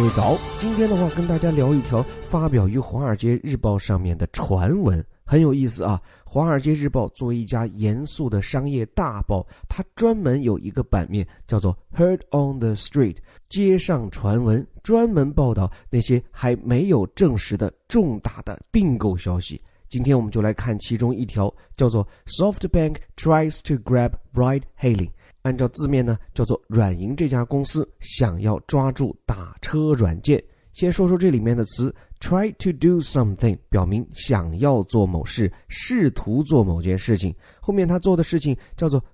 位早，今天的话跟大家聊一条发表于《华尔街日报》上面的传闻，很有意思啊。《华尔街日报》作为一家严肃的商业大报，它专门有一个版面叫做 Heard on the Street， 街上传闻，专门报道那些还没有证实的重大的并购消息。今天我们就来看其中一条，叫做 SoftBank tries to grab ride-hailing。按照字面呢，叫做软银这家公司想要抓住打车软件。先说说这里面的词 try to do something， 表明想要做某事，试图做某件事情。后面他做的事情叫做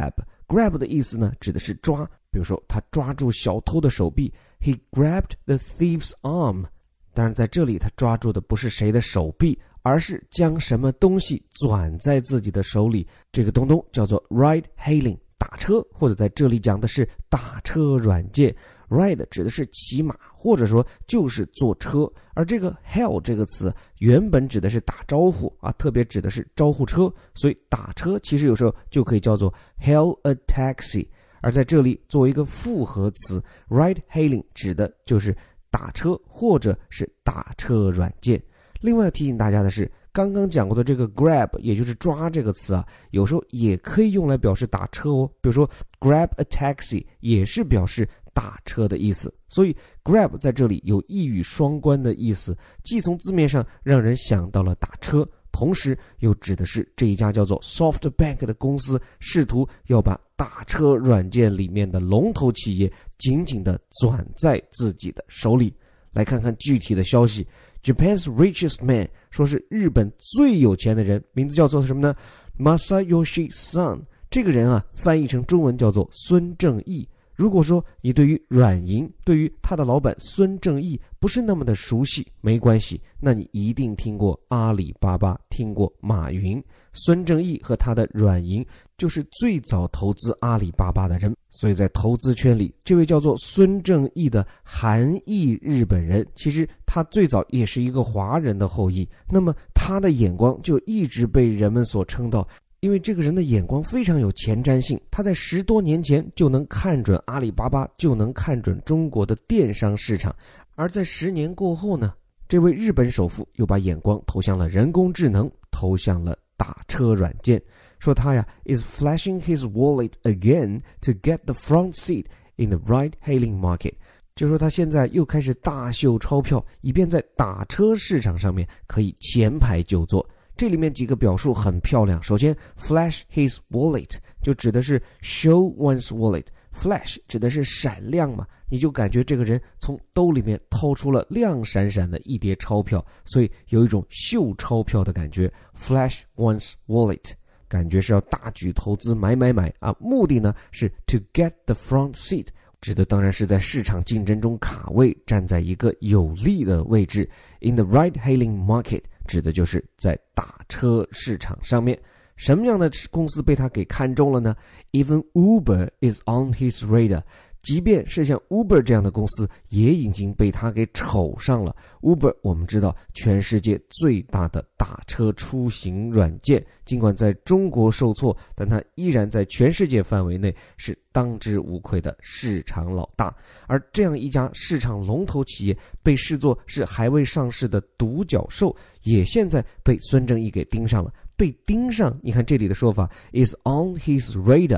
grab 的意思呢，指的是抓。比如说他抓住小偷的手臂， He grabbed the thief's arm。 当然在这里他抓住的不是谁的手臂，而是将什么东西攥在自己的手里。这个东东叫做 ride-hailing，打车，或者在这里讲的是打车软件。 Ride 指的是骑马，或者说就是坐车，而这个 hail 这个词原本指的是打招呼啊，特别指的是招呼车，所以打车其实有时候就可以叫做 hail a taxi。 而在这里作为一个复合词 ride hailing 指的就是打车或者是打车软件。另外提醒大家的是，刚刚讲过的这个 grab 也就是抓这个词啊，有时候也可以用来表示打车哦。比如说 grab a taxi 也是表示打车的意思。所以 grab 在这里有一语双关的意思，既从字面上让人想到了打车，同时又指的是这一家叫做 SoftBank 的公司试图要把打车软件里面的龙头企业紧紧地攥在自己的手里。来看看具体的消息。 Japan's richest man 说是日本最有钱的人，名字叫做什么呢？ Masayoshi Son。 这个人啊，翻译成中文叫做孙正义。如果说你对于软银，对于他的老板孙正义不是那么的熟悉，没关系，那你一定听过阿里巴巴，听过马云。孙正义和他的软银就是最早投资阿里巴巴的人，所以在投资圈里，这位叫做孙正义的韩裔日本人，其实他最早也是一个华人的后裔。那么他的眼光就一直被人们所称道，因为这个人的眼光非常有前瞻性，他在10多年前就能看准阿里巴巴，就能看准中国的电商市场。而在10年过后呢，这位日本首富又把眼光投向了人工智能，投向了打车软件。说他呀 is flashing his wallet again to get the front seat in the ride-hailing market。 就说他现在又开始大秀钞票，以便在打车市场上面可以前排就坐。这里面几个表述很漂亮。首先 flash his wallet 就指的是 show one's wallet， flash 指的是闪亮嘛，你就感觉这个人从兜里面掏出了亮闪闪的一叠钞票，所以有一种秀钞票的感觉。 flash one's wallet 感觉是要大举投资买啊，目的呢是 to get the front seat， 指的当然是在市场竞争中卡位，站在一个有利的位置。 in the ride-hailing market 指的就是在打车市场上面。什么样的公司被他给看中了呢？ Even Uber is on his radar， 即便是像 Uber 这样的公司也已经被他给瞅上了。 Uber 我们知道全世界最大的打车出行软件，尽管在中国受挫，但它依然在全世界范围内是当之无愧的市场老大。而这样一家市场龙头企业被视作是还未上市的独角兽，也现在被孙正义给盯上了。被盯上，你看这里的说法 is on his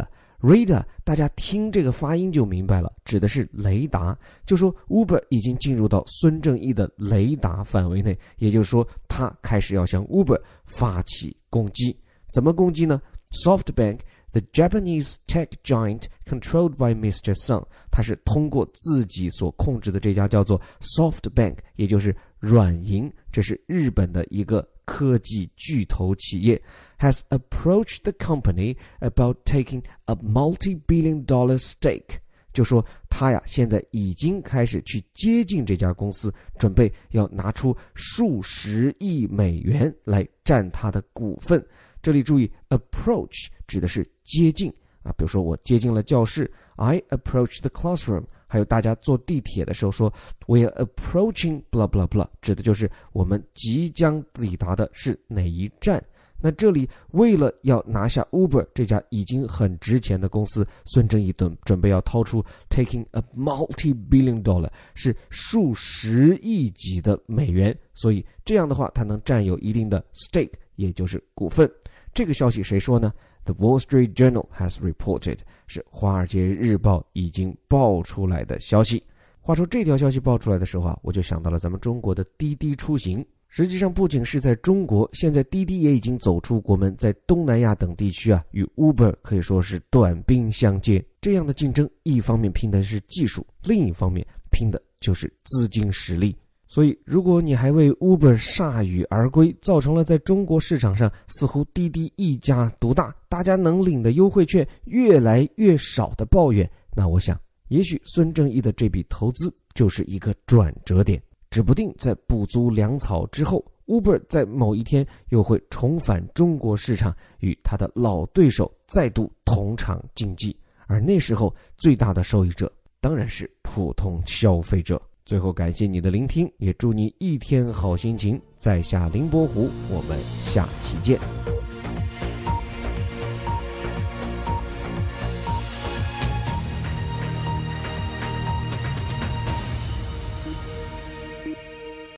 radar， 大家听这个发音就明白了，指的是雷达。就说 Uber 已经进入到孙正义的雷达范围内，也就是说他开始要向 Uber 发起攻击。怎么攻击呢？ SoftBank the Japanese tech giant controlled by Mr. Son， 他是通过自己所控制的这家叫做 SoftBank， 也就是软银，这是日本的一个科技巨头企业 has approached the company about taking a multi-billion-dollar stake， 就说他呀现在已经开始去接近这家公司，准备要拿出数十亿美元来占他的股份。这里注意 approach 指的是接近啊，比如说我接近了教室 I approach the classroom， 还有大家坐地铁的时候说 we are approaching blah blah blah， 指的就是我们即将抵达的是哪一站。 那这里为了要拿下 Uber 这家已经很值钱的公司，孙正义准备要掏出 taking a multi-billion dollar， 是数十亿级的美元，所以这样的话他能占有一定的 stake， 也就是股份。这个消息谁说呢？ The Wall Street Journal has reported， 是华尔街日报已经爆出来的消息。话说这条消息爆出来的时候我就想到了咱们中国的滴滴出行。实际上不仅是在中国，现在滴滴也已经走出国门，在东南亚等地区与 Uber 可以说是短兵相接。这样的竞争，一方面拼的是技术，另一方面拼的就是资金实力。所以如果你还为 Uber 铩羽而归，造成了在中国市场上似乎滴滴一家独大，大家能领的优惠券越来越少的抱怨，那我想也许孙正义的这笔投资就是一个转折点，指不定在补足粮草之后， Uber 在某一天又会重返中国市场，与他的老对手再度同场竞技，而那时候最大的受益者当然是普通消费者。最后感谢你的聆听，也祝你一天好心情。在下凌波湖，我们下期见。